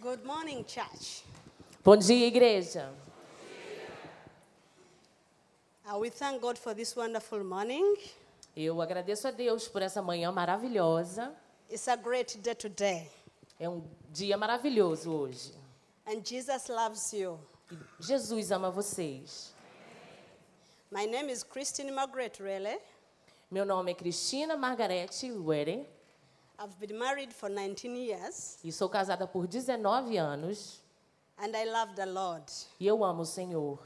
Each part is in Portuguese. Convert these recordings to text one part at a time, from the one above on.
Good morning, church. Bom dia, igreja. We thank God for this wonderful morning. Eu agradeço a Deus por essa manhã maravilhosa. It's a great day today. É um dia maravilhoso hoje. And Jesus loves you. E Jesus ama vocês. My name is Christine Margaret Rele. Meu nome é Cristina Margarete Uere I've been married for 19 years. e sou casada por 19 anos. And I love the Lord. E eu amo o Senhor.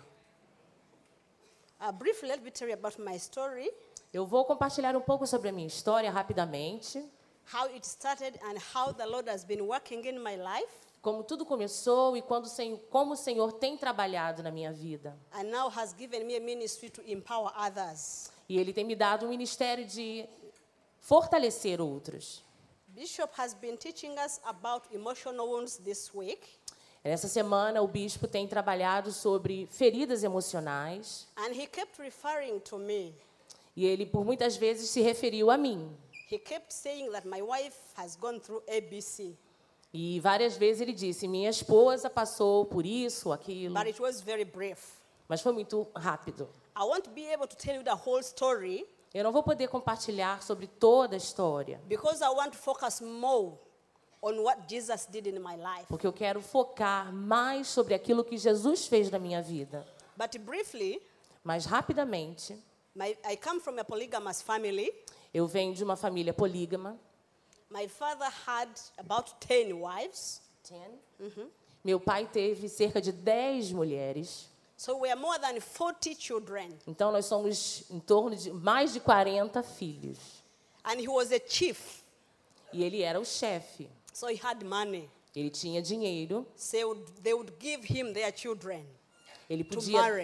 Briefly, let me tell you about my story. Eu vou compartilhar um pouco sobre a minha história rapidamente. How it started and how the Lord has been working in my life. Como tudo começou e como o Senhor tem trabalhado na minha vida. And now has given me a ministry to empower others. E Ele tem me dado um ministério de fortalecer outros. Bishop has been teaching us about emotional wounds this week. Essa semana, o bispo tem trabalhado sobre feridas emocionais. And he kept referring to me. E ele, por muitas vezes, se referiu a mim. He kept saying that my wife has gone through ABC. E várias vezes ele disse, minha esposa passou por isso, aquilo. But it was very brief. Mas foi muito rápido. I won't be able to tell you the whole story. Eu não vou poder compartilhar sobre toda a história. Because I want to focus more on what Jesus did in my life. Porque eu quero focar mais sobre aquilo que Jesus fez na minha vida. But briefly, Mas rapidamente, I come from a polygamous family. eu venho de uma família polígama. My father had about 10 wives. Meu pai teve cerca de 10 mulheres. So we are more than 40 children. Então, nós somos em torno de mais de 40 filhos. And he was a chief. E ele era o chefe. So he had money. Ele tinha dinheiro. So they would give him their children Ele to podia... marry.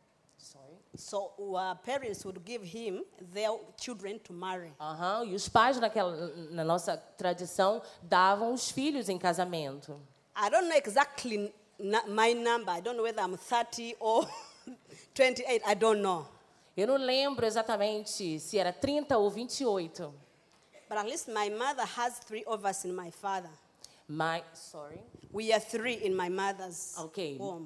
So parents would give him their children to marry. E os pais, na nossa tradição, davam os filhos em casamento. I don't know exactly my number. I don't know whether I'm 30 or 28. I don't know. Eu não lembro exatamente se era 30 ou 28. But at least my mother has 3 of us in my father. Sorry. We are 3 in my mother's Ok. womb.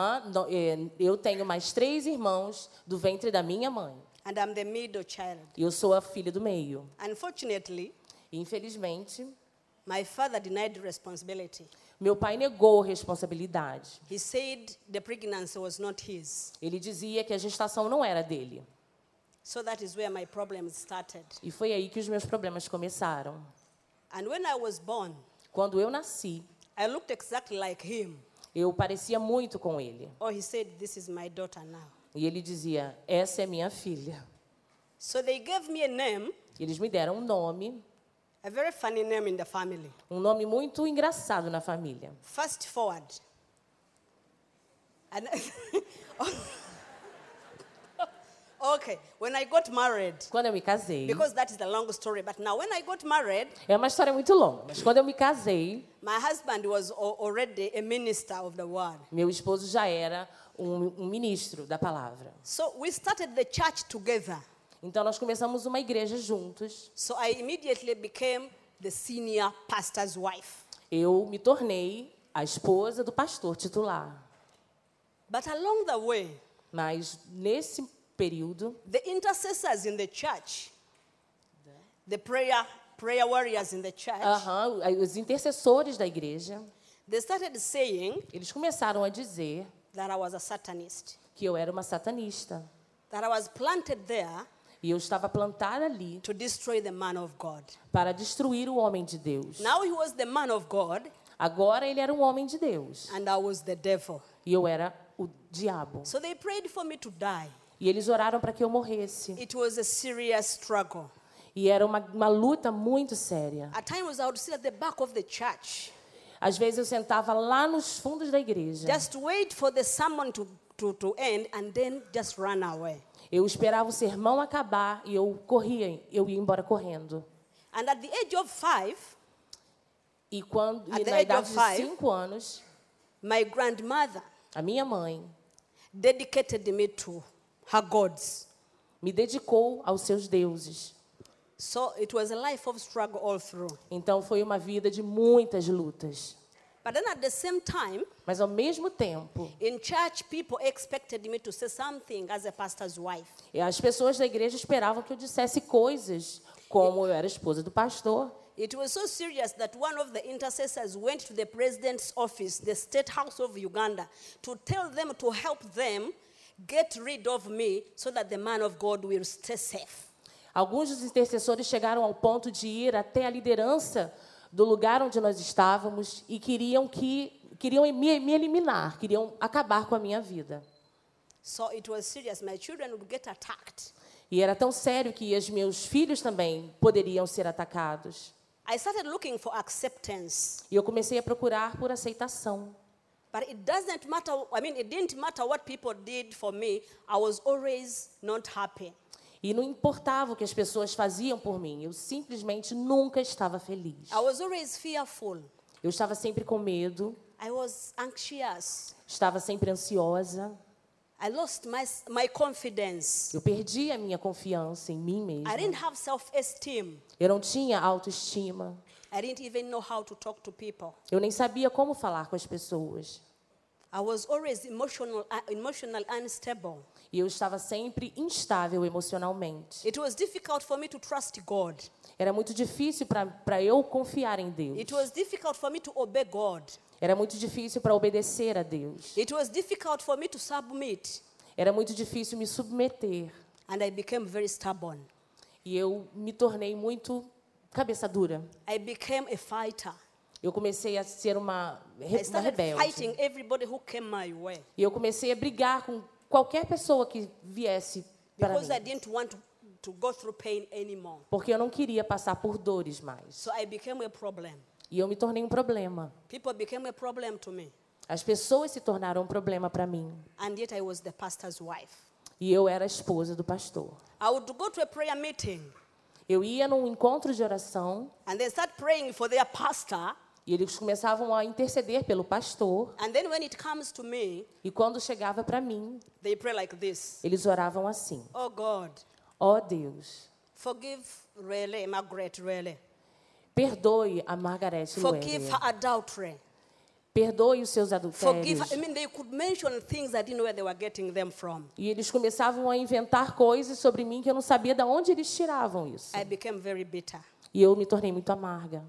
Eu tenho mais 3 irmãos do ventre da minha mãe. And I'm the middle child. E eu sou a filha do meio. Unfortunately, Infelizmente, my father denied responsibility. meu pai negou responsabilidade. He said the pregnancy was not his. Ele dizia que a gestação não era dele. So that is where my problems started. E foi aí que os meus problemas começaram. And when I was born, Quando eu nasci, I looked exactly like him. eu parecia muito com ele. Oh, he said, this is my daughter now. E ele dizia, essa é minha filha. So they gave me a name, Eles me deram um nome, a very funny name in the family. um nome muito engraçado na família. Fast forward. And okay, when I got married, Quando eu me casei, because that is the long story, but now when I got married, é uma história muito longa, mas quando eu me casei, my husband was already a minister of the word. meu esposo já era um ministro da palavra. So we started the church together. Então nós começamos uma igreja juntos. So I immediately became the senior pastor's wife. Eu me tornei a esposa do pastor titular. But along the way, Mas nesse período, the intercessors in the church, the prayer warriors in the church, os intercessores da igreja, they started saying eles começaram a dizer that I was a Satanist, que eu era uma satanista. that I was planted there E eu estava plantada ali to destroy the man of God. para destruir o homem de Deus. Now he was the man of God, Agora ele era um homem de Deus. and I was the devil. E eu era o diabo. So they prayed for me to die. E eles oraram para que eu morresse. It was a serious struggle. E era uma luta muito séria. At times I would sit at the back of the church, Às vezes eu sentava lá nos fundos da igreja. just wait for the sermon to end and then just run away. Eu esperava o sermão acabar e eu ia embora correndo. And at the age of 5, E At the na age idade of de 5, 5 anos, my grandmother a minha mãe dedicated me to her gods. me dedicou aos seus deuses. So it was a life of struggle all through. Então foi uma vida de muitas lutas. But then at the same time, Mas, ao mesmo tempo, in church, people expected me to say something as a pastor's wife. as pessoas da igreja esperavam que eu dissesse coisas como eu era esposa do pastor. It was so serious that one of the intercessors went to the president's office, the State House of Uganda, to tell them to help them get rid of me so that the man of God will stay safe. Alguns dos intercessores chegaram ao ponto de ir até a liderança do lugar onde nós estávamos e queriam me eliminar, queriam acabar com a minha vida. So it was serious. My children would get attacked. E era tão sério que os meus filhos também poderiam ser atacados. I started looking for acceptance. E eu comecei a procurar por aceitação. But it doesn't matter. It didn't matter what people did for me. I was always not happy. E não importava o que as pessoas faziam por mim, eu simplesmente nunca estava feliz. I was always fearful. Eu estava sempre com medo, I was anxious. estava sempre ansiosa. I lost my confidence. Eu perdi a minha confiança em mim mesma. I didn't have self-esteem. Eu não tinha autoestima. I didn't even know how to talk to people. Eu nem sabia como falar com as pessoas. I was always emotional unstable. E eu estava sempre instável emocionalmente. It was difficult for me to trust God. Era muito difícil para eu confiar em Deus. It was difficult for me to obey God. Era muito difícil para obedecer a Deus. It was difficult for me to submit. Era muito difícil me submeter. And I became very stubborn. E eu me tornei muito cabeça dura. I became a fighter. Eu comecei a ser uma I started rebelde. fighting everybody who came my way. E eu comecei a brigar com qualquer pessoa que viesse para Because I mim. didn't want to go through pain anymore. Porque eu não queria passar por dores mais. So I became a problem. E eu me tornei um problema. People became a problem to me. As pessoas se tornaram um problema para mim. And yet I was the pastor's wife. E eu era a esposa do pastor. I would go to a prayer meeting Eu ia num encontro de oração and they start praying for their pastor. e eles começavam a interceder pelo pastor. And then when it comes to me, E quando chegava para mim, they pray like this. eles oravam assim: Oh God, ó Deus, forgive Margaret Rele. perdoe a Margaret Forgive Lueria. her adultery. Perdoe os seus Forgive adultérios. her. They could mention things I didn't know where they were getting them from. E eles começavam a inventar coisas sobre mim que eu não sabia de onde eles tiravam isso. I became very bitter. E eu me tornei muito amarga.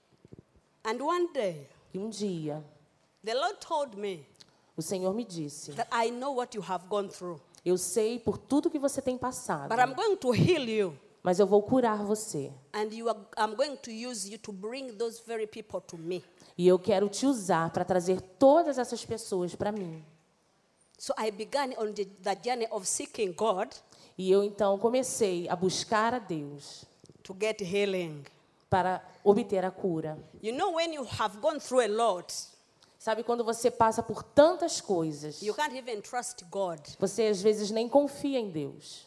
And one day, E um dia, the Lord told me o Senhor me disse: that I know what you have gone through, eu sei por tudo que você tem passado, but I'm going to heal you. mas eu vou curar você. And I'm going to use you to bring those very people to me. E eu quero te usar para trazer todas essas pessoas para mim. So I began on the journey of seeking God E eu então comecei a buscar a Deus to get healing. para obter a cura. You know, when you have gone through a lot, Sabe, quando você passa por tantas coisas, you can't even trust God. você às vezes nem confia em Deus.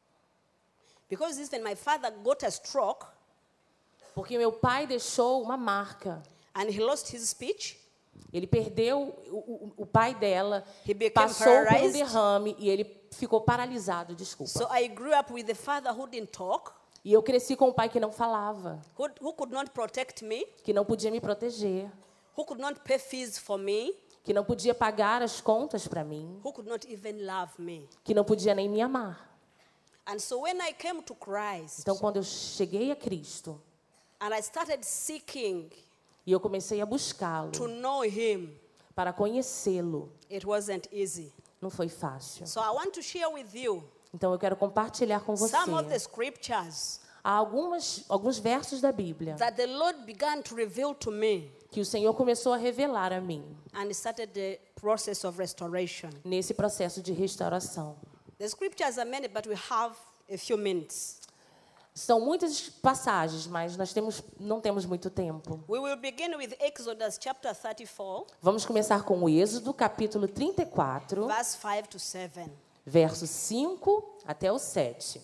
Because even my father got a stroke Porque meu pai deixou uma marca. and he lost his speech. Ele perdeu o pai dela, He became passou por um paralyzed. derrame e ele ficou paralisado, desculpa. So I grew up with a father who didn't talk, E eu cresci com um pai que não falava, who could not protect me, que não podia me proteger, who could not pay fees for me, que não podia pagar as contas para mim, who could not even love me. que não podia nem me amar. And so when I came to Christ Então, quando eu cheguei a Cristo and I started seeking e eu comecei a to buscá-lo know him, para conhecê-lo, it wasn't easy. não foi fácil. So I want to share with you Então, eu quero compartilhar com você. some of the scriptures Há alguns versos da Bíblia that the Lord began to reveal to me que o Senhor começou a revelar a mim and started the process of restoration. nesse processo de restauração. The scriptures are many, but we have a few minutes. São muitas passagens, mas nós não temos muito tempo. We will begin with Exodus chapter 34, Vamos começar com o Êxodo, capítulo 34, verse 5 to 7. versos 5 até o 7.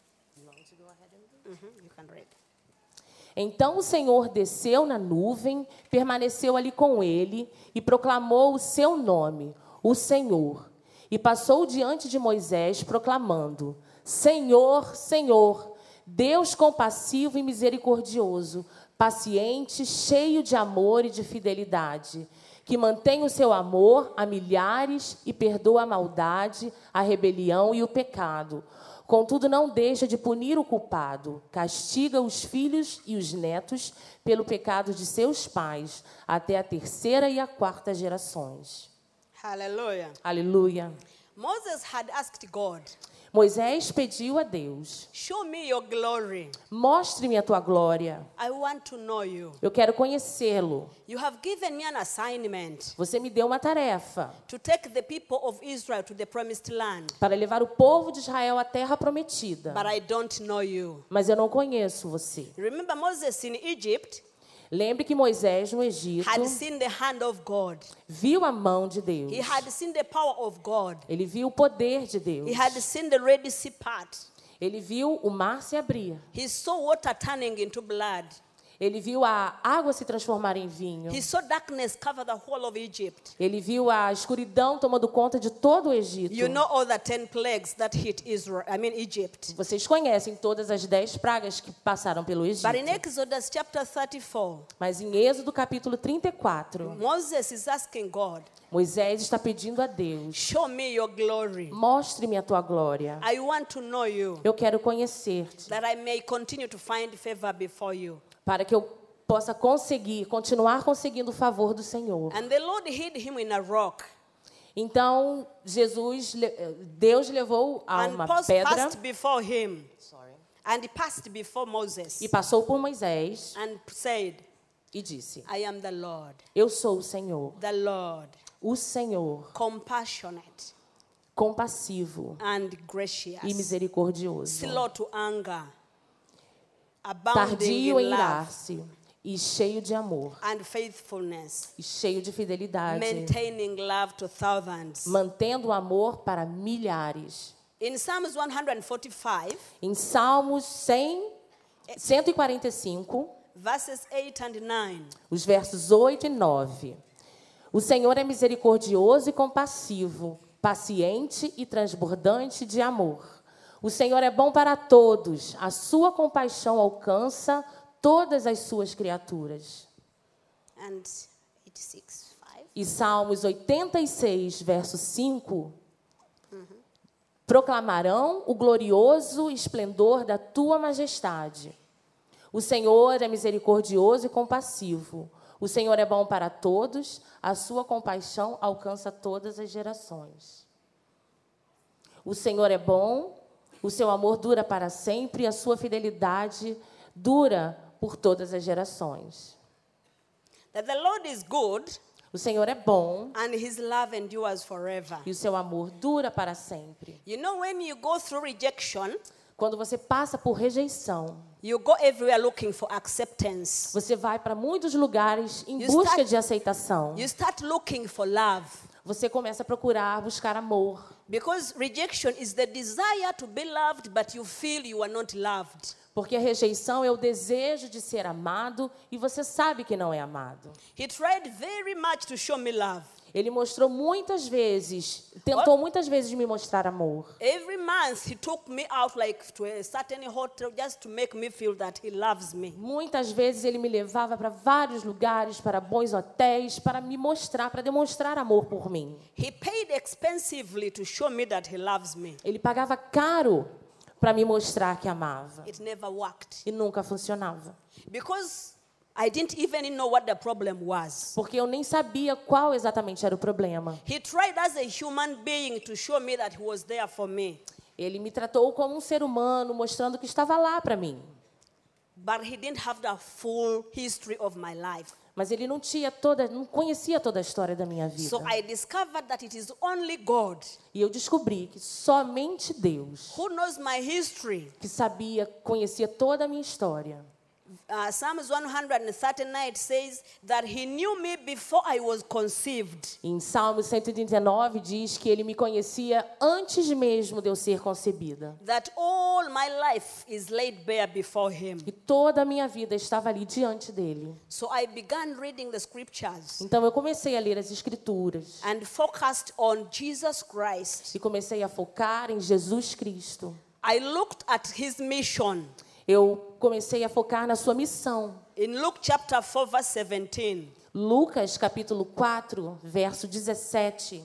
You can read. Então o Senhor desceu na nuvem, permaneceu ali com ele e proclamou o seu nome, o Senhor. E passou diante de Moisés, proclamando: Senhor, Senhor, Deus compassivo e misericordioso, paciente, cheio de amor e de fidelidade, que mantém o seu amor a milhares e perdoa a maldade, a rebelião e o pecado. Contudo, não deixa de punir o culpado, castiga os filhos e os netos pelo pecado de seus pais, até a terceira e a quarta gerações. Hallelujah. Aleluia. Moses had asked God, Moisés pediu a Deus: show me your glory. mostre-me a tua glória. I want to know you. Eu quero conhecê-lo. You have given me an assignment Você me deu uma tarefa to take the people of Israel to the promised land, para levar o povo de Israel à terra prometida. but I don't know you. Mas eu não conheço você. Remember Moses in Egypt Lembre que Moisés, no Egito, had seen the hand of God. viu a mão de Deus. He had seen the power of God. Ele viu o poder de Deus. He had seen the Red Sea part. Ele viu o mar se abrir. He saw water turning into blood. Ele viu a água se transformar em vinho. He saw darkness cover the whole of Egypt. Ele viu a escuridão tomando conta de todo o Egito. You know all the 10 plagues that hit Egypt. Vocês conhecem todas as 10 pragas que passaram pelo Egito. But in Exodus chapter 34, Mas em Êxodo capítulo 34, Moses is asking God, Moisés está pedindo a Deus: show me your glory. mostre-me a tua glória. I want to know you, Eu quero conhecer-te, that I may continue to find favor before you. para que eu possa continuar conseguindo o favor do Senhor. And the Lord hid him in a rock Então, Deus levou a and uma passed pedra before him. And he passed before Moses e passou por Moisés and said, e disse: I am the Lord, eu sou o Senhor, o Senhor, compassionate compassivo and gracious, e misericordioso, slow to anger, abounding tardio em in love irar-se e cheio de amor and faithfulness, e cheio de fidelidade, maintaining love to thousands. mantendo o amor para milhares. In Psalms 145, Em Salmos 145, verses 8 and 9, os versos 8 e 9. O Senhor é misericordioso e compassivo, paciente e transbordante de amor. O Senhor é bom para todos, a sua compaixão alcança todas as suas criaturas. and 86, 5. E Salmos 86, verso 5. Proclamarão o glorioso esplendor da tua majestade. O Senhor é misericordioso e compassivo. O Senhor é bom para todos, a sua compaixão alcança todas as gerações. O Senhor é bom, o seu amor dura para sempre e a sua fidelidade dura por todas as gerações. That the Lord is good O Senhor é bom and his love endures forever. e o seu amor dura para sempre. You know, when you go through rejection, Quando você passa por rejeição, you go everywhere looking for acceptance. você vai para muitos lugares em You busca start- de aceitação. You start looking for love. Você começa a procurar, buscar amor. Because rejection is the desire to be loved, but you feel you are not loved. Porque a rejeição é o desejo de ser amado e você sabe que não é amado. He tried very much to show me love. Ele mostrou muitas vezes, tentou muitas vezes me mostrar amor. Every month he took me out like to a certain hotel just to make me feel that he loves me. Muitas vezes ele me levava para vários lugares, para bons hotéis, para me mostrar, para demonstrar amor por mim. He paid expensively to show me that he loves me. Ele pagava caro para me mostrar que amava. It never worked. E nunca funcionava. Because I didn't even know what the problem was. Porque eu nem sabia qual exatamente era o problema. He tried as a human being to show me that he was there for me. Ele me tratou como um ser humano, mostrando que estava lá para mim. But he didn't have the full history of my life. Mas ele não conhecia toda a história da minha vida. So I discovered that it is only God E eu descobri que somente Deus, who knows my history. que conhecia toda a minha história. Psalms 139 says that he knew me before I was conceived. Em Salmo 139 diz que ele me conhecia antes mesmo de eu ser concebida. That all my life is laid bare before him. E toda a minha vida estava ali diante dele. So I began reading the scriptures Então eu comecei a ler as Escrituras. and focused on Jesus Christ. E comecei a focar em Jesus Cristo. I looked at his mission. Eu comecei a focar na sua missão. In Luke chapter 4, verse 17, Lucas, capítulo 4, verso 17.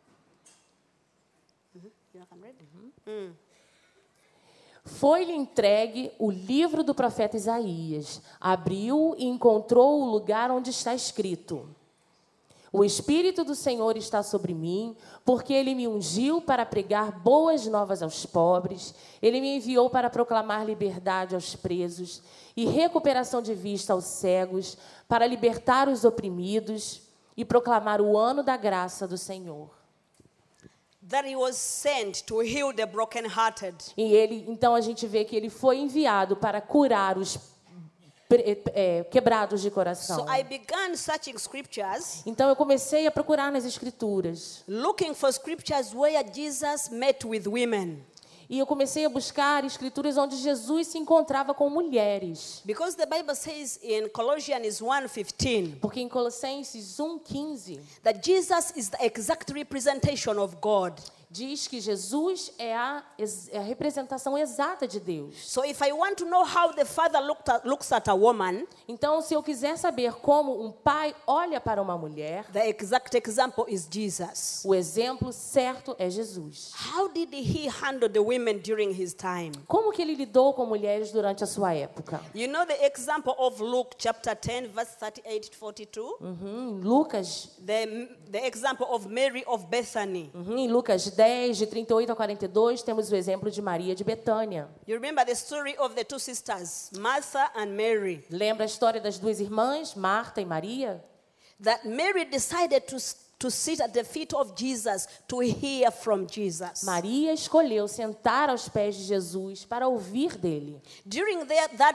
Foi-lhe entregue o livro do profeta Isaías. Abriu e encontrou o lugar onde está escrito: O Espírito do Senhor está sobre mim, porque Ele me ungiu para pregar boas novas aos pobres. Ele me enviou para proclamar liberdade aos presos e recuperação de vista aos cegos, para libertar os oprimidos e proclamar o ano da graça do Senhor. that he was sent to heal the brokenhearted. E ele, então a gente vê que ele foi enviado para curar os quebrados de coração. So I began searching scriptures, Então eu comecei a procurar nas escrituras. looking for scriptures where Jesus met with women. E eu comecei a buscar escrituras onde Jesus se encontrava com mulheres. Because the Bible says in Colossians 1:15 Porque em Colossenses 1:15 that Jesus is the exact representation of God. diz que Jesus é a representação exata de Deus. So if I want to know how the father looks at a woman, Então, se eu quiser saber como um pai olha para uma mulher, the exact example is Jesus. o exemplo certo é Jesus. How did he handle the women during his time? Como que ele lidou com mulheres durante a sua época? You know the example of Luke chapter 10 verse 38 to 42? Em Lucas, The example of Mary of Bethany. em Lucas 10, de 38 a 42, temos o exemplo de Maria de Betânia. You remember the story of the two sisters, Martha and Mary? Lembra a história das duas irmãs, Marta e Maria? That Mary decided to sit at the feet of Jesus to hear from Jesus. Maria escolheu sentar aos pés de Jesus para ouvir dele. During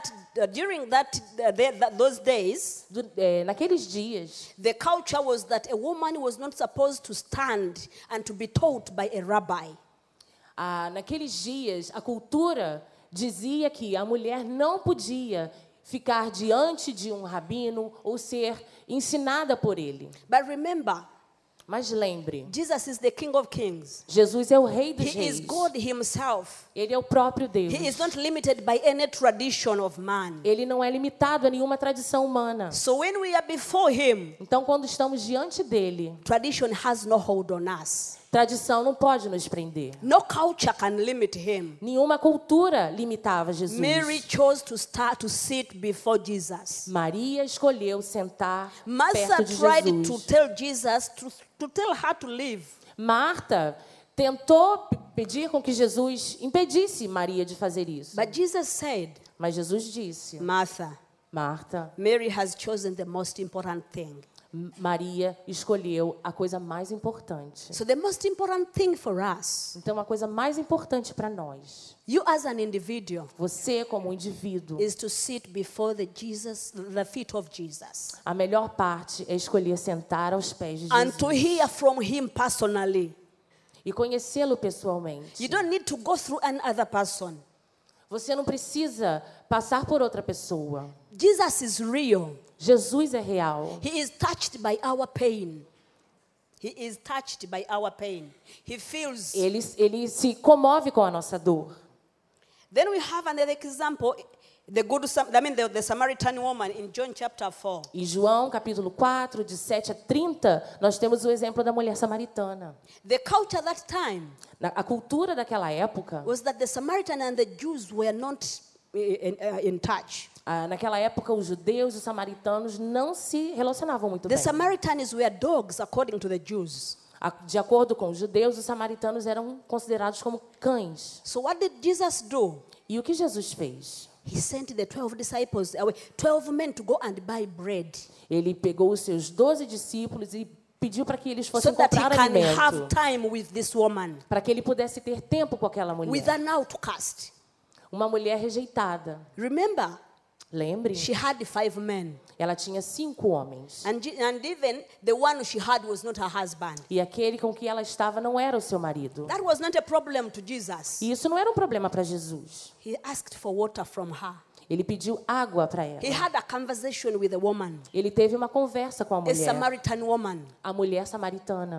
those days, Naqueles dias, the culture was that a woman was not supposed to stand and to be taught by a rabbi. naqueles dias, a cultura dizia que a mulher não podia ficar diante de um rabino ou ser ensinada por ele. But remember, Mas lembre, Jesus is the King of Kings. Jesus é o Rei dos He is Reis. God himself. Ele é o próprio Deus. He is not limited by any tradition of man. Ele não é limitado a nenhuma tradição humana. So when we are before him, Então, quando estamos diante dele, tradition has no hold on us. tradição não pode nos prender. No culture can limit him. Nenhuma cultura limitava Jesus. Mary chose to sit before Jesus. Maria escolheu sentar Martha perto de tried to Jesus. tell Jesus to tell her to leave. Marta tentou pedir com que Jesus impedisse Maria de fazer isso. But Jesus said, Mas Jesus disse: Martha, Marta, Mary has chosen the most important thing. Maria escolheu a coisa mais importante. So the most important thing for us, Então, a coisa mais importante para nós, you as an individual, você como indivíduo, is to sit before the feet of Jesus. a melhor parte é escolher sentar aos pés de And to Jesus hear from him personally. e conhecê-lo pessoalmente. You don't need to go through another person. Você não precisa passar por outra pessoa. Jesus is real. Jesus é real. He is touched by our pain. He is touched by our pain. He feels. Ele se comove com a nossa dor. Then we have another example, the Samaritan woman in John chapter 4. Em João, capítulo 4, de 7 a 30, nós temos o exemplo da mulher samaritana. The culture that time A cultura daquela época, was that the Samaritan and the Jews were not in touch. naquela época, os judeus e os samaritanos não se relacionavam muito The bem. Samaritans were dogs according to the Jews. De acordo com os judeus, os samaritanos eram considerados como cães. So what did Jesus do? E o que Jesus fez? He sent the 12 disciples away, 12 men to go and buy bread Ele pegou os seus 12 discípulos e pediu para que eles so fossem that he comprar can alimento, have time with this woman, para que ele pudesse ter tempo com aquela with mulher. an outcast. Uma mulher rejeitada. Remember, Lembre, she had 5 men. ela tinha 5 homens. And even the one she had was not her husband. E aquele com que ela estava não era o seu marido. That was not a problem to Jesus. E isso não era um problema para Jesus. He asked for water from her. Ele pediu água para ela. He had a conversation with a woman, Ele teve uma conversa com a a mulher, Samaritan woman. a mulher samaritana.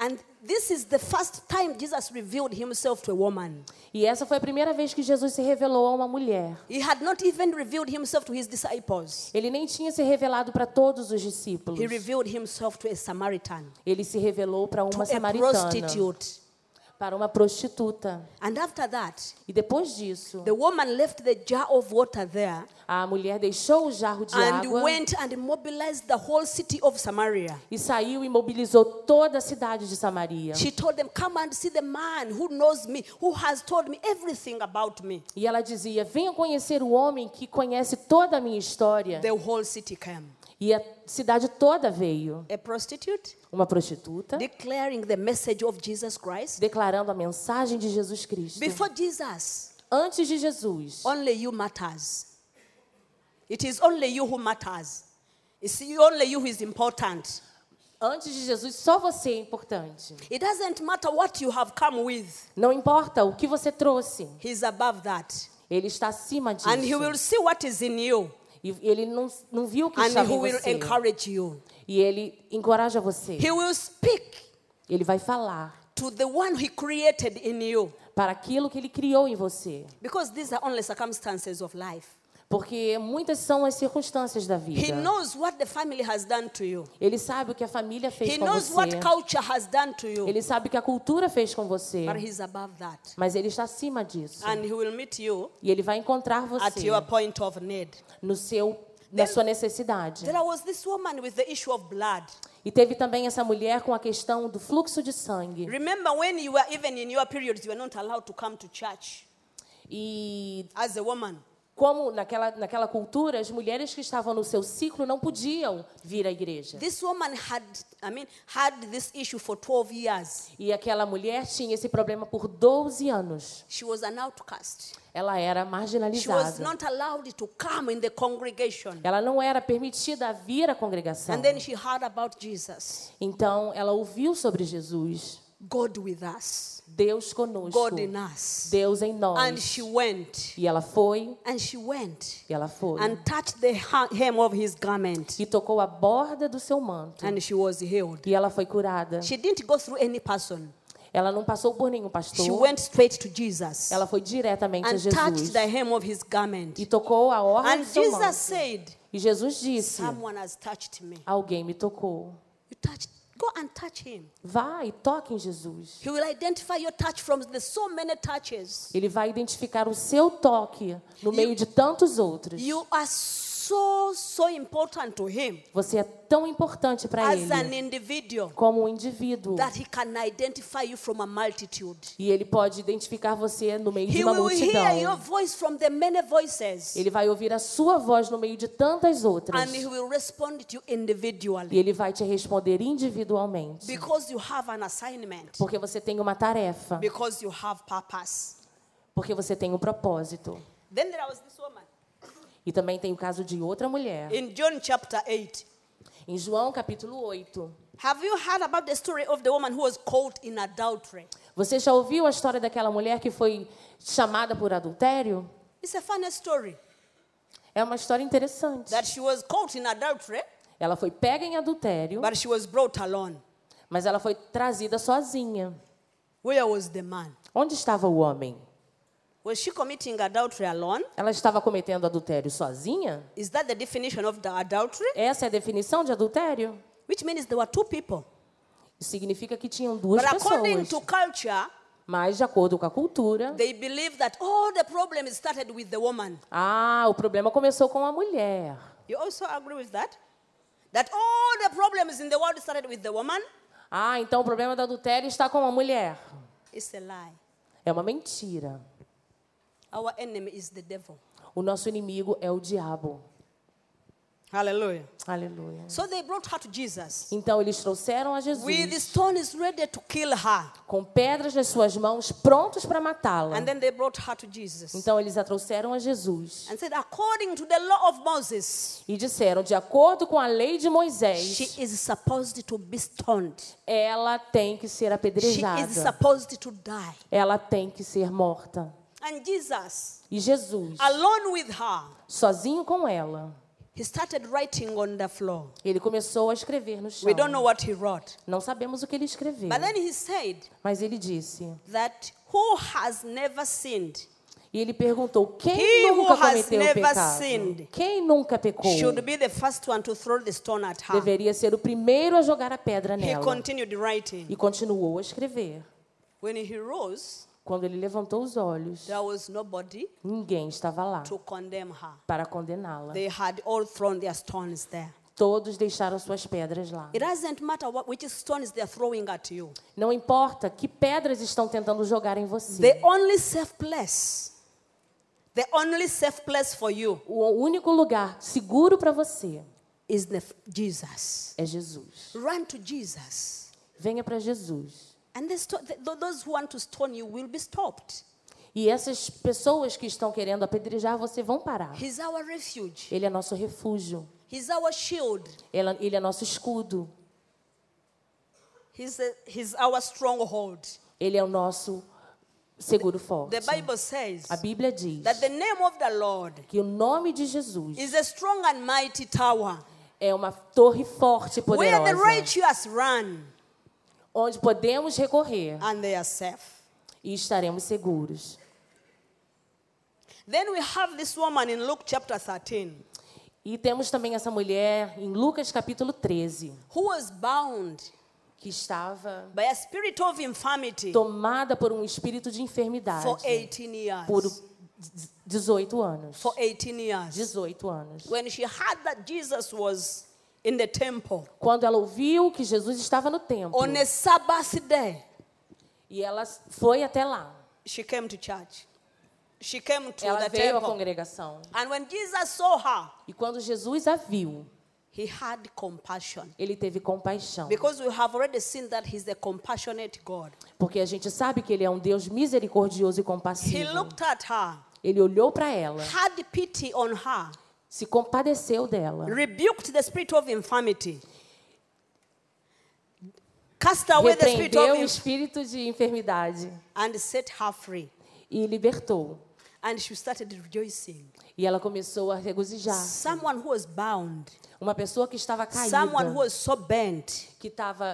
And this is the first time Jesus revealed himself to a woman. E essa foi a primeira vez que Jesus se revelou a uma mulher. He had not even revealed himself to his disciples. Ele nem tinha se revelado para todos os discípulos. He revealed himself to a Samaritan, Ele se revelou para to uma a samaritana, prostitute. para uma prostituta. And after that, E depois disso, the woman left the jar of water there a mulher deixou o jarro de and água went and mobilized the whole city of Samaria. e saiu e mobilizou toda a cidade de Samaria. She told them, come and see the man who knows me, who has told me everything about me. E ela dizia: venham conhecer o homem que conhece toda a minha história. The whole city came. E a cidade toda veio. A prostitute Uma prostituta declaring the message of Jesus Christ. declarando a mensagem de Jesus Cristo. Before Jesus, Antes de Jesus, only you matters. It is only you who matters. It's only you who is important. antes de Jesus, só você é importante. It doesn't matter what you have come with. Não importa o que você trouxe, He's above that. Ele está acima disso. And he will see what is in you. E ele não viu o que And estava he em will você. encourage you. E ele encoraja você. He will speak Ele vai falar to the one he created in you. para aquilo que ele criou em você. Because these are only circumstances of life. Porque muitas são as circunstâncias da He vida. knows what the family has done to you. Ele sabe o que a família fez He com knows você. what culture has done to you. Ele sabe o que a cultura fez com você. But he's above that. Mas ele está acima disso. And he will meet you E ele vai encontrar at você your point of need. na sua necessidade. There was this woman with the issue of blood. E teve também essa mulher com a questão do fluxo de sangue. Remember when you were even in your periods, you were not allowed to come to church E as a woman. como naquela cultura, as mulheres que estavam no seu ciclo não podiam vir à igreja. This woman had this issue for 12 years. E aquela mulher tinha esse problema por 12 anos. She was an outcast. Ela era She was marginalizada. not allowed to come in the congregation. Ela não era permitida a vir à congregação. And then she heard about Jesus. Então, ela ouviu sobre Jesus. God with us. Deus conosco. God in us. Deus em And nós. she went. E ela foi. And she went. E ela foi. And touched the hem of his garment. E tocou a borda do seu manto. And she was healed. E ela foi curada. She didn't go through any person. Ela não passou por nenhum She pastor. went straight to Jesus. Ela foi diretamente a And touched Jesus. the hem of his garment. E tocou a orla And do seu Jesus manto. said, E Jesus disse: someone has touched me. alguém me tocou. You touched. Go and touch him. Vá e toque em Jesus. He will identify your touch from the so many touches. Ele vai identificar o seu toque no meio de tantos outros. You are so important to him Você é tão importante para as an ele individual como um indivíduo. that he can identify you from a multitude. E ele pode identificar você no meio de He uma will hear your multidão. voice from the many voices. Ele vai ouvir a sua voz no meio de tantas outras. And he will respond to you individually. E ele vai te responder individualmente. Because you have an assignment. Porque você tem uma tarefa. Because you have purpose. Porque você tem um propósito. Then there was this woman. E também tem o caso de outra mulher. In John chapter 8. Em João capítulo 8. Have you heard about the story of the woman who was caught in adultery? Você já ouviu a história daquela mulher que foi chamada por adultério? It's a funny story. É uma história interessante. That she was caught in adultery, Ela foi pega em adultério, but she was brought alone. mas ela foi trazida sozinha. Where was the man? Onde estava o homem? Was she committing adultery alone? Ela estava cometendo adultério sozinha? Is that the definition of the adultery? Essa é a definição de adultério? Which means there were two people. Isso significa que tinham duas But according pessoas. to culture, Mas, de acordo com a cultura, they believe that all the problem started with the woman. o problema começou com a mulher. You also agree with that? That all the problems in the world started with the woman? Então o problema do adultério está com a mulher. It's a lie. É uma mentira. Our enemy is the devil. O nosso inimigo é o diabo. Hallelujah. Aleluia. So they brought her to Jesus Então eles trouxeram a with Jesus stones ready to kill her. com pedras nas suas mãos, prontos para matá-la. And then they brought her to Jesus Então eles a trouxeram a Jesus and said, according to the law of Moses, e disseram, de acordo com a lei de she Moisés, is supposed to be stoned. ela tem que ser She apedrejada. is supposed to die. Ela tem que ser morta. And Jesus, E Jesus, alone with her, sozinho com ela, He started writing on the floor. Ele começou a escrever no chão. We don't know what he wrote. Não sabemos o que ele escreveu. But then he said Mas ele disse, that who has never sinned e ele perguntou, quem He who nunca has cometeu o never pecado? sinned Quem nunca pecou? should be the first one to throw the stone at her. Deveria ser o primeiro a jogar a pedra He nela. continued writing. E continuou a escrever. When he rose, Quando ele levantou os olhos, there was nobody ninguém estava lá to condemn her. para condená-la. They had all thrown their stones there. Todos deixaram suas pedras lá. It doesn't matter which stones they're throwing at you. Não importa que pedras estão tentando jogar em você. The only safe place for you O único lugar seguro para você is Jesus. é Jesus. Run to Jesus. Venha para Jesus. And those who want to stone you will be stopped. E essas pessoas que estão querendo apedrejar você vão parar. He's our refuge. Ele é nosso refúgio. He's our shield. Ele é nosso escudo. He's our stronghold. Ele é o nosso seguro forte. The Bible says A Bíblia diz that the name of the Lord que o nome de Jesus is a strong and mighty tower é uma torre forte e where the poderosa, righteous run onde podemos recorrer and they are safe. e estaremos seguros. Then we have this woman in Luke chapter 13 E temos também essa mulher em Lucas capítulo 13, who was bound que estava by a spirit of infirmity tomada por um espírito de enfermidade for 18 years. por 18 anos. For 18 years. 18 anos. When she heard that Jesus was in the temple Quando ela ouviu que Jesus estava no templo, on a Sabbath day, e ela foi até lá. she came to church. She came to Ela the veio à temple. congregação. And when Jesus saw her, E quando Jesus a viu, he had compassion. ele teve compaixão. Because we have already seen that he's a compassionate God. Porque a gente sabe que ele é um Deus misericordioso e He compassivo. looked at her, Ele olhou para ela, had pity on her, se compadeceu dela, rebuked the spirit of infirmity, cast away the spirit repreendeu o of espírito de enfermidade and set her free. e libertou. And she started rejoicing. E ela começou a regozijar. Someone who was bound, Uma pessoa que estava caída, someone who was so bent, que estava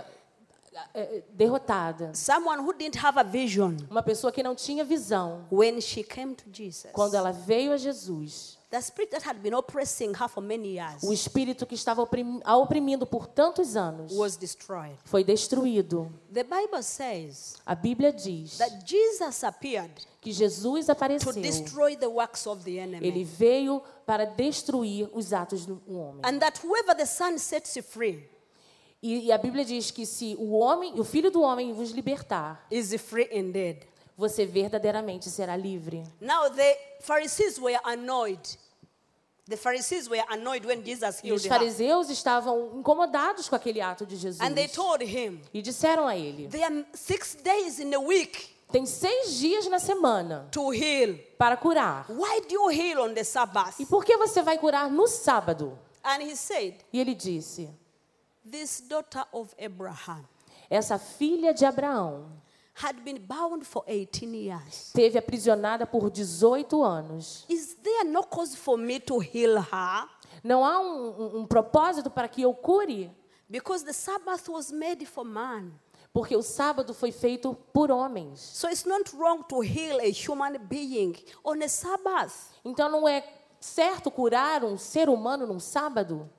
derrotada. someone who didn't have a vision. Uma pessoa que não tinha visão. When she came to Jesus, Quando ela veio a Jesus, the spirit that had been oppressing her for many years o espírito que estava a oprimindo por tantos anos was destroyed. foi destruído. The Bible says A Bíblia diz that Jesus appeared que Jesus to apareceu. destroy the works of the Ele enemy. veio para destruir os atos do homem. And that whoever the Son sets free E a Bíblia diz que se o Filho do Homem vos libertar, is free indeed. você verdadeiramente será livre. Now the Pharisees were annoyed. The Pharisees were annoyed when Jesus E os healed her. fariseus estavam incomodados com aquele ato de Jesus. And they told him, E disseram a ele, there are 6 days in a week tem 6 dias na semana to heal. para curar. Why do you heal on the Sabbath? E por que você vai curar no sábado? And he said, E ele disse, this daughter of Abraham essa filha de Abraão had been bound for 18 years. teve aprisionada por 18 anos. Is there no cause for me to heal her? Não há um propósito para que eu cure? Because the Sabbath was made for man. Porque o sábado foi feito por homens. So it's not wrong to heal a human being on a Sabbath. Então não é certo curar um ser humano num sábado?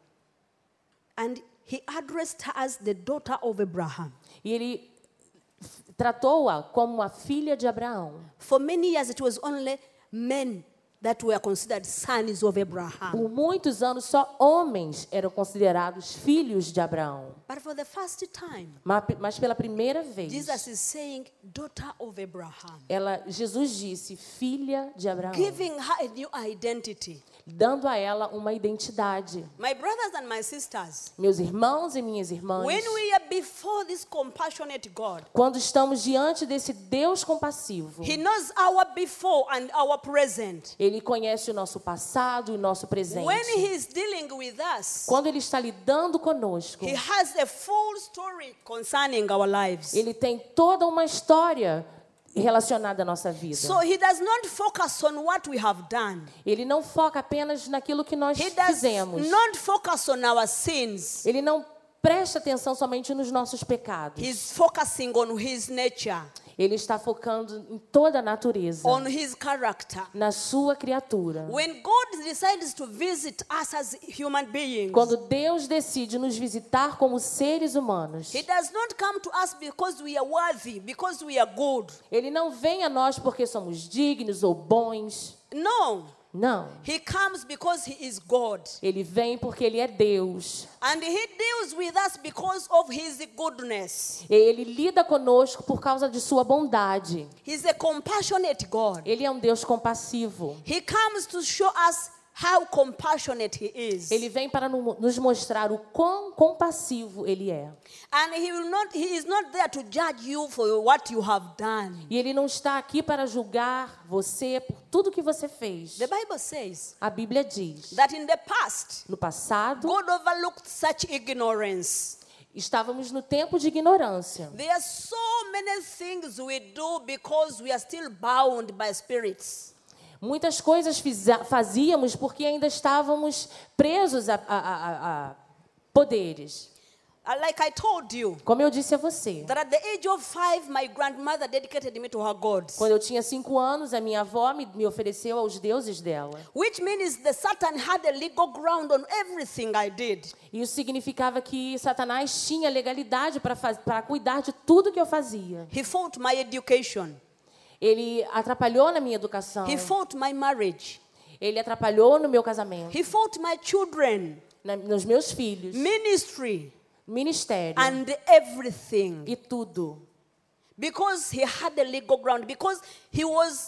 And he addressed her as the daughter of Abraham. E ele tratou-a como uma filha de Abraão. For many years it was only men that were considered sons of Abraham. Por muitos anos só homens eram considerados filhos de Abraão. But for the first time, Mas pela primeira vez, Jesus is saying daughter of Abraham, Jesus disse filha de Abraão, giving her a new identity. dando a ela uma identidade. My brothers and my sisters, Meus irmãos e minhas irmãs, when we are before this compassionate God, quando estamos diante desse Deus compassivo, He knows our before and our present. Ele conhece o nosso passado e o nosso presente. When He is dealing with us, Quando Ele está lidando conosco, He has a full story concerning our lives. Ele tem toda uma história relacionado à nossa vida. So he does not focus on what we have done. Ele não foca apenas naquilo que nós He does fizemos. not focus on our sins. Ele não presta atenção somente nos nossos pecados. He's focusing on his nature, Ele está focando em toda a natureza, on his character. na sua criatura. When God decides to visit us as human beings, Quando Deus decide nos visitar como seres humanos, he does not come to us because we are worthy, because we are good. Ele não vem a nós porque somos dignos ou bons. No. Não. He comes because he is God. Ele vem porque Ele é Deus. And he deals with us because of his goodness. Ele lida conosco por causa de sua bondade. He's a compassionate God. Ele é um Deus compassivo. He comes to show us how compassionate he is. Ele vem para nos mostrar o quão compassivo Ele é. And he is not there to judge you for what you have done. E Ele não está aqui para julgar você por tudo que você fez. The Bible says A Bíblia diz, that in the past, no passado, God overlooked such ignorance. estávamos no tempo de ignorância. There are so many things we do because we are still bound by spirits. Muitas coisas fazíamos porque ainda estávamos presos a poderes. Like I told you, Como eu disse a você, that at the age of 5, my grandmother dedicated me to her gods. quando eu tinha 5 anos, a minha avó me ofereceu aos deuses dela. Which means the Satan had a legal ground on everything I did. Isso significava que Satanás tinha legalidade para cuidar de tudo que eu fazia. He fought my education. Ele atrapalhou na minha educação. He fought my marriage. Ele atrapalhou no meu casamento, He fought my children, nos meus filhos, ministry, ministério and everything. e tudo. Because he had a legal ground. Because I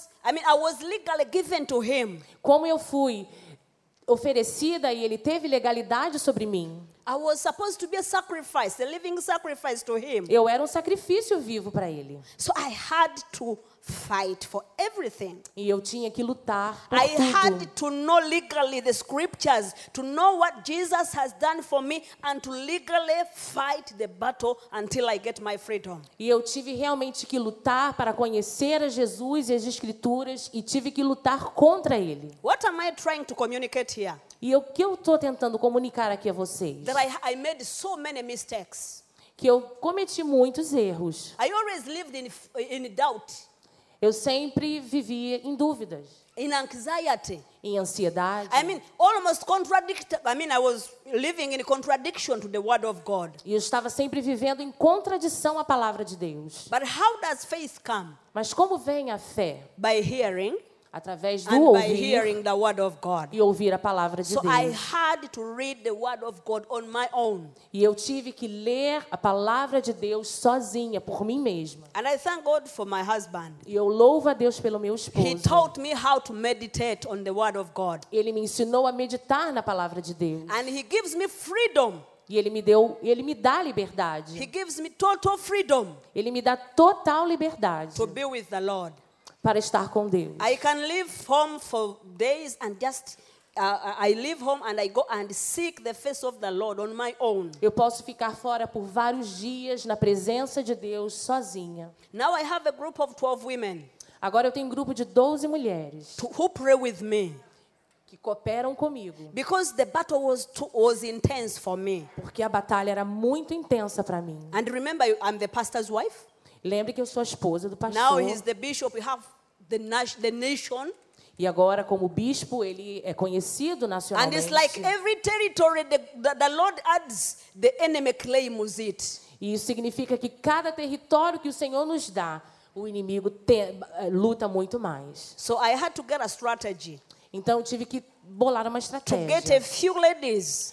was legally given to him. Como eu fui oferecida e ele teve legalidade sobre mim, I was supposed to be a sacrifice, a living sacrifice to him. eu era um sacrifício vivo para ele. So I had to fight for everything. E eu tinha que lutar por I had tudo. to know legally the scriptures, to know what Jesus has done for me, and to legally fight the battle until I get my freedom. E eu tive realmente que lutar para conhecer a Jesus e as Escrituras e tive que lutar contra ele. What am I trying to communicate here? E o que eu estou tentando comunicar aqui a vocês? That I made so many mistakes. Que eu cometi muitos erros. I always lived in doubt, Eu sempre vivia em dúvidas, in anxiety. em ansiedade. Almost I was living in contradiction to the word of God. E eu estava sempre vivendo em contradição à palavra de Deus. But how does faith come? Mas como vem a fé? By hearing, Através do and by ouvir hearing the word of God. e ouvir a palavra de So I Deus. had to read the word of God on my own. E eu tive que ler a palavra de Deus sozinha, por mim mesma. And I thank God for my husband. E eu louvo a Deus pelo meu He esposo. taught me how to meditate on the word of God. Ele me ensinou a meditar na palavra de Deus. And he gives me freedom. E ele me dá liberdade. He gives me total freedom Ele me dá total liberdade to be with the Lord. para estar com Deus. I can leave home for days and just I leave home and I go and seek the face of the Lord on my own. Eu posso ficar fora por vários dias na presença de Deus sozinha. Now I have a group of 12 women Agora eu tenho um grupo de 12 mulheres who pray with me que cooperam comigo, because the battle was intense for me. porque a batalha era muito intensa para mim. And remember, I'm the pastor's wife. Lembre que eu sou a esposa do Now pastor. he's the bishop. We have the nation. E agora, como bispo, ele é conhecido And nacionalmente. it's like every territory the Lord adds, the enemy claims it. E isso significa que cada território que o Senhor nos dá, o inimigo luta muito mais. So I had to get a strategy Então, eu tive que bolar uma to get a estratégia. few ladies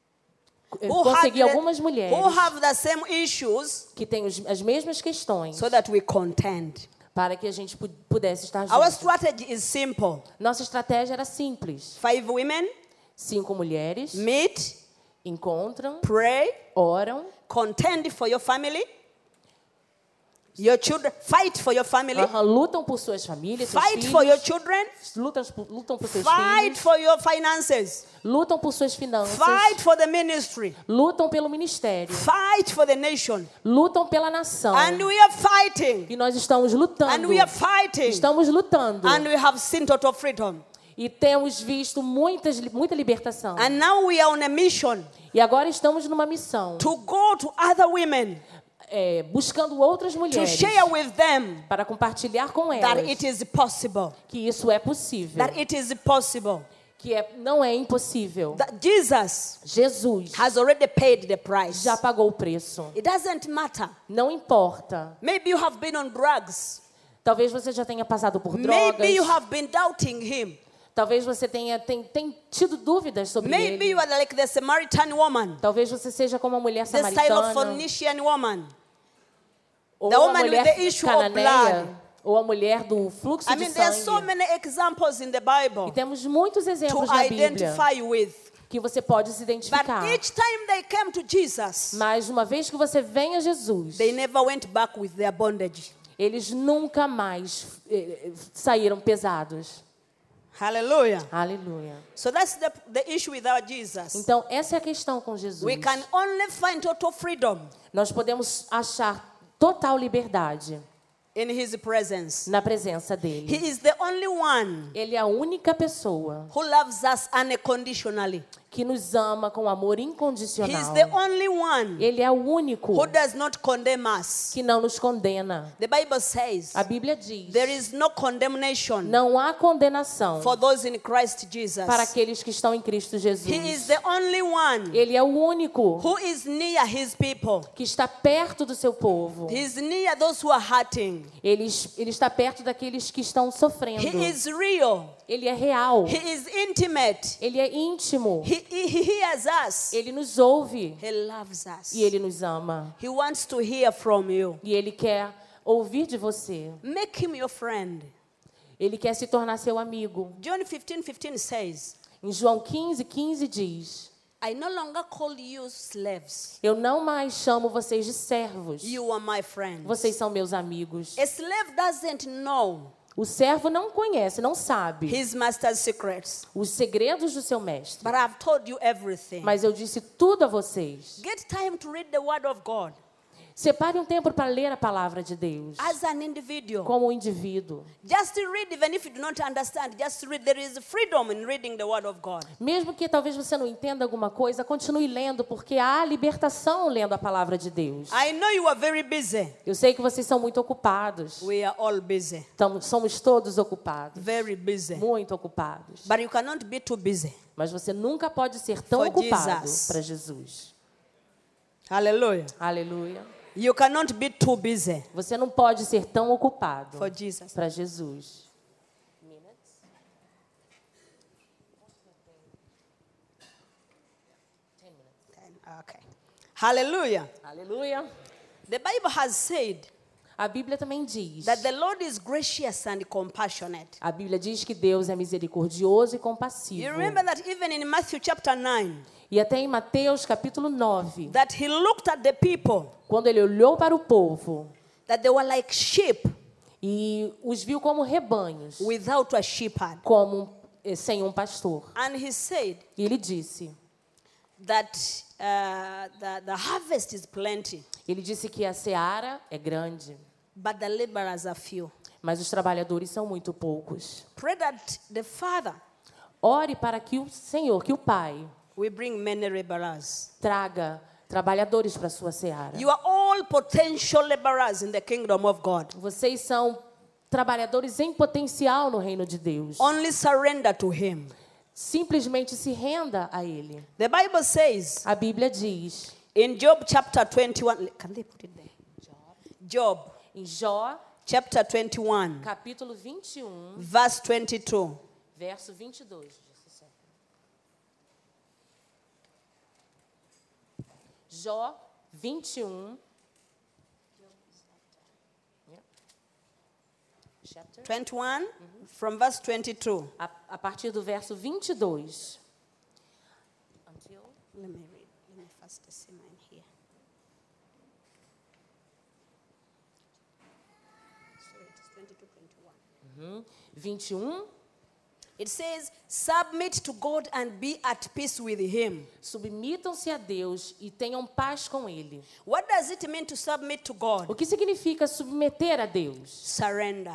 Eu consegui algumas mulheres who have the same issues que têm as mesmas questões so that we contend. para que a gente pudesse estar Our juntos. strategy is simple. Nossa estratégia era simples. 5 women 5 mulheres meet, encontram, pray, oram contend for your family, Your children, fight for your family. Lutam por suas famílias, seus Fight filhos. for your children. Lutam por seus Fight filhos. for your finances. Lutam por suas finanças. Fight for the ministry. Lutam pelo ministério. Fight for the nation. Lutam pela nação. And we are fighting. E nós estamos lutando. And we are fighting. Estamos lutando. And we have seen total freedom. E temos visto muita libertação. And now we are on a mission E agora estamos numa missão. to go to other women Buscando outras to mulheres. share with them Para compartilhar com that elas. it is possible. Que isso é possível. That it is possible. Que não é impossível. That Jesus Jesus has already paid the price. já pagou o preço. It doesn't matter. Não importa. Maybe you have been on drugs. Talvez você já tenha passado por drogas. Maybe you have been doubting him. Talvez você tenha tido dúvidas sobre Maybe ele. you are like the Samaritan woman. Talvez você seja como a mulher The style of samaritana. Phoenician woman. Ou the a woman with mulher the issue of cananeia. blood. Ou a mulher do fluxo I de mean, there are so sangue. many examples in the E Bible temos muitos to exemplos na Bíblia identify with. que você pode se But identificar. each time they came to Jesus, Mas uma vez que você vem a Jesus, they never went back with their bondage. eles nunca mais saíram pesados. Hallelujah. Aleluia. So that's the issue with our Jesus. Então, essa é a questão com Jesus. We can only find total freedom Nós podemos achar total liberdade in His presence. na presença dele. He is the only one Ele é a única pessoa who loves us unconditionally. que nos ama com amor He is incondicional. the only one Ele é o único who does not condemn us. que não nos condena. The Bible says A Bíblia diz: there is no condemnation não há condenação for those in Christ Jesus. para aqueles que estão em Cristo Jesus. He is the only one Ele é o único who is near His people. que está perto do seu povo. He is near those who are hurting. Ele está perto daqueles que estão sofrendo. He is real. Ele é real. He is intimate. Ele é íntimo. He hears us. Ele nos ouve He loves us. e ele nos ama. He wants to hear from you. E ele quer ouvir de você. Make him your friend. Ele quer se tornar seu amigo. John 15:15 says, Em João 15:15 diz: I no longer call you slaves. eu não mais chamo vocês de servos. You are my friends. Vocês são meus amigos. A slave doesn't know O servo não conhece, não sabe his master's secrets. os segredos do seu mestre. But I've told you everything. Mas eu disse tudo a vocês. Get time to read the word of God Separe um tempo para ler a palavra de Deus. as an individual. Como um indivíduo. Just read, even if you do not understand. Just read. There is freedom in reading the word of God. Mesmo que talvez você não entenda alguma coisa, continue lendo, porque há libertação lendo a palavra de Deus. I know you are very busy. Eu sei que vocês são muito ocupados. We are all busy. Então, somos todos ocupados. Very busy. Muito ocupados. But you cannot be too busy. Mas você nunca pode ser tão For ocupado Jesus. para Jesus. Hallelujah. Aleluia. You cannot be too busy Você não pode ser tão ocupado for Jesus. para Jesus. Okay. Hallelujah. Aleluia. The Bible has said A Bíblia também diz. that the Lord is gracious and compassionate. A Bíblia diz que Deus é misericordioso e compassivo. You remember that even in Matthew chapter 9, E até em Mateus capítulo 9, that he looked at the people, quando ele olhou para o povo that they were like sheep e os viu como rebanhos, without a shepherd. sem um pastor. And he said E ele disse, that the harvest is plenty, ele disse que a seara é grande, but the laborers are few. mas os trabalhadores são muito poucos. Pray that the Father Ore para que o Senhor, que o Pai, will bring many laborers. traga trabalhadores para a sua seara. You are all potential laborers in the kingdom of God. Vocês são trabalhadores em potencial no reino de Deus. Only surrender to Him. Simplesmente se renda a Ele. The Bible says A Bíblia diz, in Job chapter 21, can they put it there? Job em Jó, chapter 21, capítulo 21, verse 22. verso 22. Jó 21. Chapter? 21 from verse 22. A partir do verso 22. Until Let me read. Let me first see mine here. 21. It says, submit to God and be at peace with him. Submitam-se a Deus e tenham paz com Ele. What does it mean to submit to God? O que significa submeter a Deus? Surrender.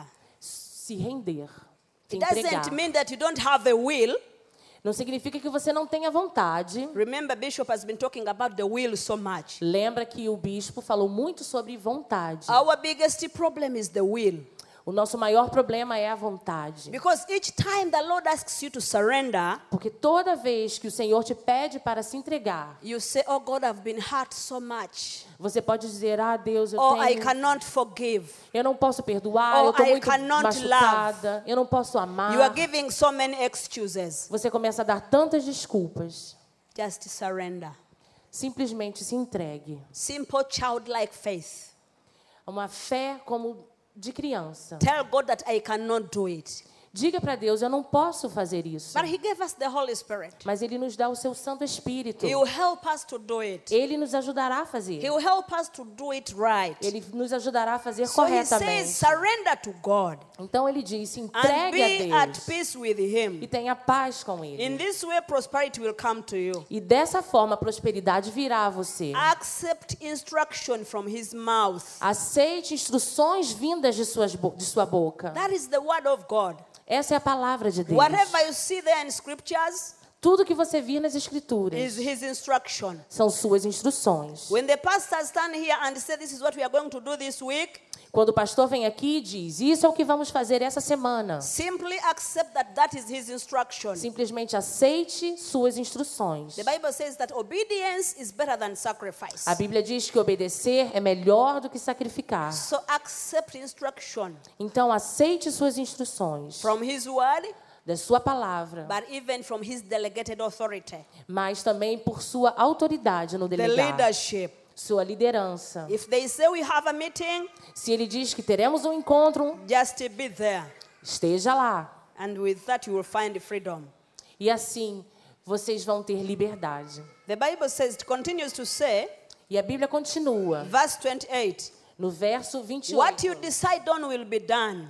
Se render. Se It entregar. doesn't mean that you don't have a will. Não significa que você não tenha vontade. Remember, Bishop has been talking about the will so much. Lembra que o bispo falou muito sobre vontade. Our biggest problem is the will. O nosso maior problema é a vontade. Because each time the Lord asks you to surrender, Porque toda vez que o Senhor te pede para se entregar, you say, oh God, I've been hurt so much. você pode dizer, Deus, Oh, I cannot forgive. eu não posso perdoar, Oh, eu estou I muito cannot machucada, eu não posso amar. You are giving so many excuses. Você começa a dar tantas desculpas. Just surrender. Simplesmente se entregue. Simple childlike faith. Uma fé como de criança. Tell God that I cannot do it. Diga para Deus, eu não posso fazer isso. But He gave us the Holy Spirit. Mas Ele nos dá o seu Santo Espírito. He will help us to do it. Ele nos ajudará a fazer. He will help us to do it right. Ele nos ajudará a fazer So He says, corretamente. surrender to God Então Ele diz, se and entregue be a at Deus peace with e Him. tenha paz com In Ele. this way, prosperity will come to you. E dessa forma a prosperidade virá a você. Accept instruction from His mouth. Aceite instruções vindas de sua boca. That is the word of God. Essa é a palavra de Deus. Whatever you see there in scriptures Tudo que você vir nas is Escrituras His instruction. são suas instruções. When the pastor stand here and say, this is what we are going to do this week, Quando o pastor vem aqui e diz, isso é o que vamos fazer essa semana. simply accept that that is his instruction. Simplesmente aceite suas instruções. The Bible says that obedience is better than sacrifice. A Bíblia diz que obedecer é melhor do que sacrificar. So accept instruction Então aceite suas instruções from his word, da sua palavra, but even from his delegated authority, mas também por sua autoridade no the delegar, leadership. sua liderança. If they say we have a meeting, Se ele diz que teremos um encontro, just be there. esteja lá. And with that you will find freedom. E assim vocês vão ter liberdade. The Bible says, it continues to say, E a Bíblia continua, verse 28, no verso what you 28, decide on will be done.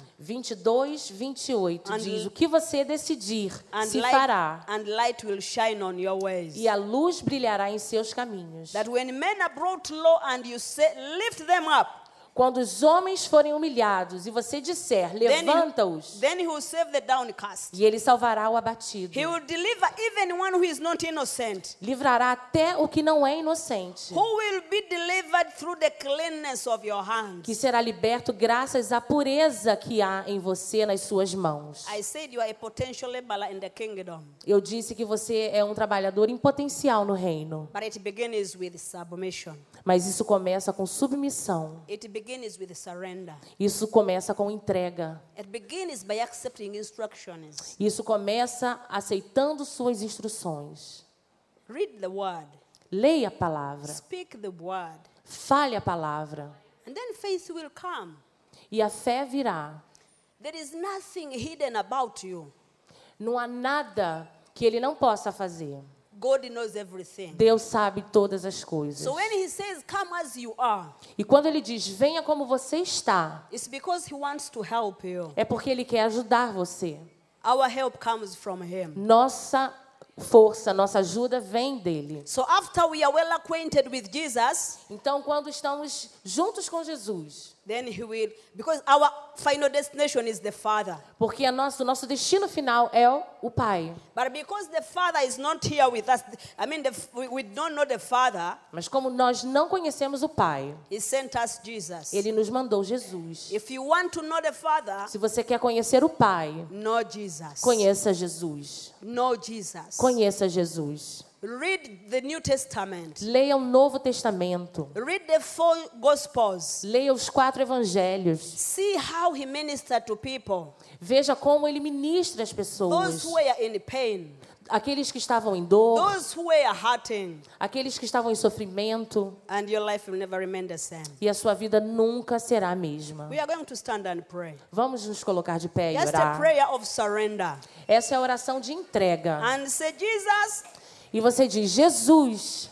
22, 28, And- diz, o que você decidir And se fará, light will shine on your ways. e a luz brilhará em seus caminhos. That when men are brought low and you say, lift them up, Quando os homens forem humilhados e você disser, levanta-os, then he will save the downcast. e ele salvará o abatido. He will deliver even one who is not innocent. Livrará até o que não é inocente, Who will be delivered through the cleanness of your hands. que será liberto graças à pureza que há em você nas suas mãos. I said you are a potential laborer in the kingdom, Eu disse que você é um trabalhador em potencial no reino, but it begins with submission. mas isso começa com submissão. It begins with surrender. Isso começa com entrega. It begins by accepting instructions. Isso começa aceitando suas instruções. Read the word. Leia a palavra. Speak the word. Fale a palavra. And then faith will come. E a fé virá. There is nothing hidden about you. Não há nada que ele não possa fazer. God knows everything. Deus sabe todas as coisas. So when he says, come as you are, E quando ele diz, venha como você está, it's because he wants to help you. é porque ele quer ajudar você. Our help comes from him. Nossa força, nossa ajuda vem dele. So after we are well acquainted with Jesus, Então, quando estamos juntos com Jesus, then he will, because our final destination is the Father. porque o nosso destino final é o Pai. But because the Father is not here with us, I mean, we don't know the Father, Mas como nós não conhecemos o Pai, he sent us Jesus. ele nos mandou Jesus. If you want to know the Father, Se você quer conhecer o Pai, know Jesus. conheça Jesus. Know Jesus. Conheça Jesus. Read the New Testament. Leia o Novo Testamento. Read the 4 Gospels. Leia os 4 Evangelhos. See how he ministered to people. Veja como ele ministra as pessoas. Those who were in pain. Aqueles que estavam em dor, Those who were hurting. aqueles que estavam em sofrimento. And your life will never remain the same. E a sua vida nunca será a mesma. We are going to stand and pray. Vamos nos colocar de pé e Just a orar. prayer of surrender. Essa é a oração de entrega. And say, Jesus, E você diz, Jesus,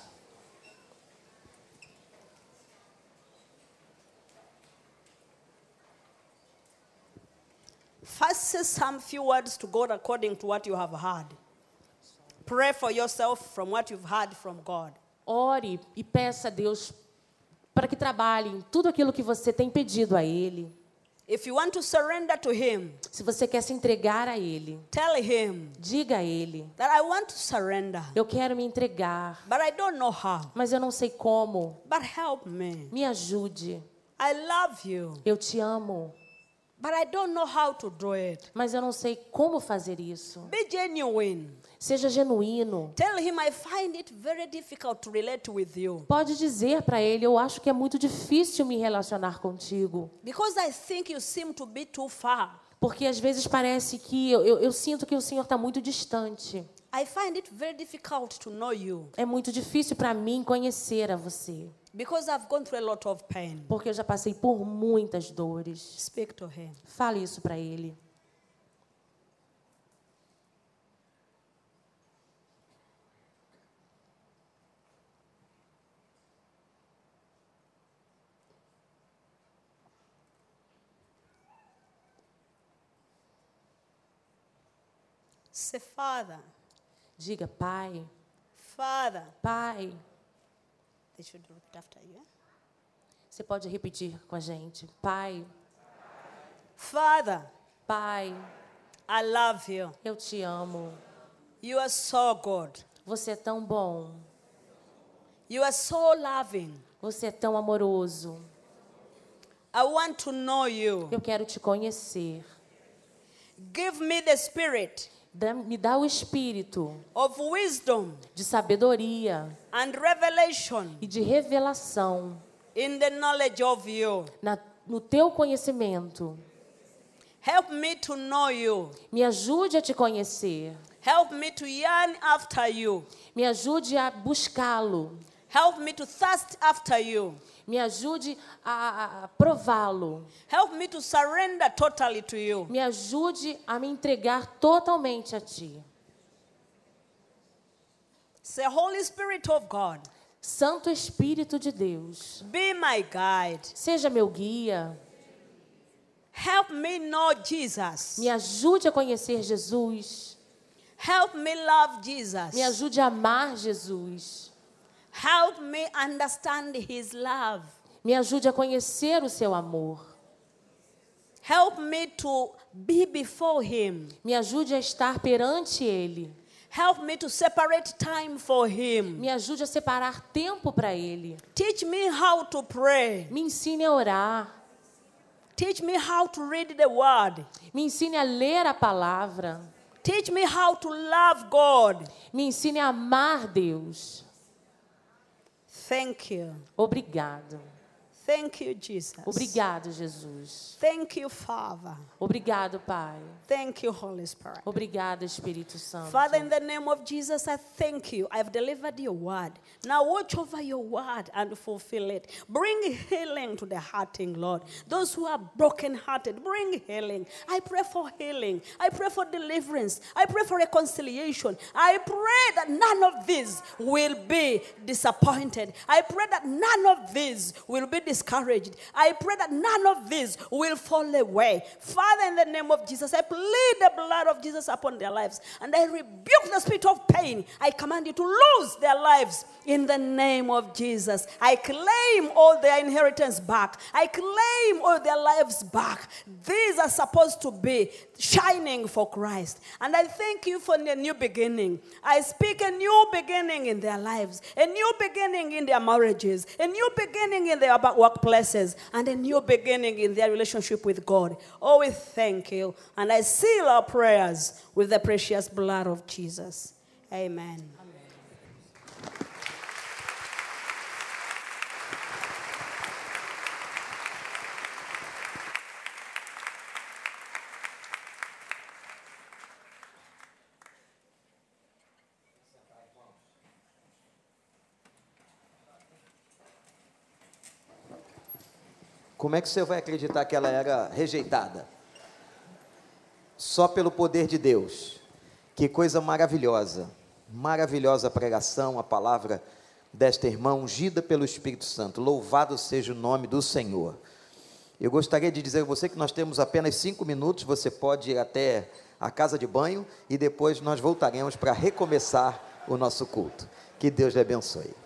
First, say some few words to God according to what you have heard. Pray for yourself from what you've heard from God. Ore e peça a Deus para que trabalhe em tudo aquilo que você tem pedido a Ele. If you want to surrender to Him, Se você quer se entregar a Ele, tell Him diga a Ele: that I want to surrender, eu quero me entregar, but I don't know how. mas eu não sei como. But help me. Me ajude. I love you, Eu te amo, but I don't know how to do it. mas eu não sei como fazer isso. Be genuine. Seja genuíno. Tell Him I find it very difficult to relate with you, Pode dizer para Ele: eu acho que é muito difícil me relacionar contigo. because I think you seem to be too far. Porque às vezes parece que eu sinto que o Senhor está muito distante. I find it very difficult to know you, É muito difícil para mim conhecer a você. because I've gone through a lot of pain. Porque eu já passei por muitas dores. Speak to Him. Fale isso para Ele. Say, Father, Diga: Pai, Father. Pai. They should repeat after you. Yeah? Você pode repetir com a gente: Pai, Father, Pai, I love you. eu te amo. You are so good. Você é tão bom. You are so loving. Você é tão amoroso. I want to know you. Eu quero te conhecer. Give me the spirit Me dá o espírito of wisdom de sabedoria and revelation e de revelação in the knowledge of you. no teu conhecimento. Help me to know you. Me ajude a te conhecer. Help me to yearn after you. Me ajude a buscá-lo. Help me to thirst after you. Me ajude a prová-lo. Help me to surrender totally to you. Me ajude a me entregar totalmente a ti. Say, Holy Spirit of God, Santo Espírito de Deus, be my guide. seja meu guia. Help me know Jesus. Me ajude a conhecer Jesus. Help me love Jesus. Me ajude a amar Jesus. Help me understand His love. Me ajude a conhecer o seu amor. Help me to be before Him. Me ajude a estar perante Ele. Help me to separate time for Him. Me ajude a separar tempo para Ele. Teach me how to pray. Me ensine a orar. Teach me how to read the Word. Me ensine a ler a palavra. Teach me how to love God. Me ensine a amar Deus. Thank you. Obrigado. Thank you, Jesus. Obrigado, Jesus. Thank you, Father. Obrigado, Pai. Thank you, Holy Spirit. Obrigado, Espírito Santo. Father, in the name of Jesus, I thank you. I've delivered your word. Now watch over your word and fulfill it. Bring healing to the hurting, Lord. Those who are brokenhearted, bring healing. I pray for healing. I pray for deliverance. I pray for reconciliation. I pray that none of these will be disappointed. I pray that none of these will be discouraged. I pray that none of these will fall away. Father, in the name of Jesus, I plead the blood of Jesus upon their lives. And I rebuke the spirit of pain. I command you to lose their lives in the name of Jesus. I claim all their inheritance back. I claim all their lives back. These are supposed to be shining for Christ. And I thank you for the new beginning. I speak a new beginning in their lives, a new beginning in their marriages, a new beginning in their workplaces, and a new beginning in their relationship with God. Oh, we thank you. And I seal our prayers with the precious blood of Jesus. Amen. Como é que você vai acreditar que ela era rejeitada? Só pelo poder de Deus. Que coisa maravilhosa. Maravilhosa pregação, a palavra desta irmã ungida pelo Espírito Santo. Louvado seja o nome do Senhor. Eu gostaria de dizer a você que nós temos apenas 5 minutos, você pode ir até a casa de banho e depois nós voltaremos para recomeçar o nosso culto. Que Deus lhe abençoe.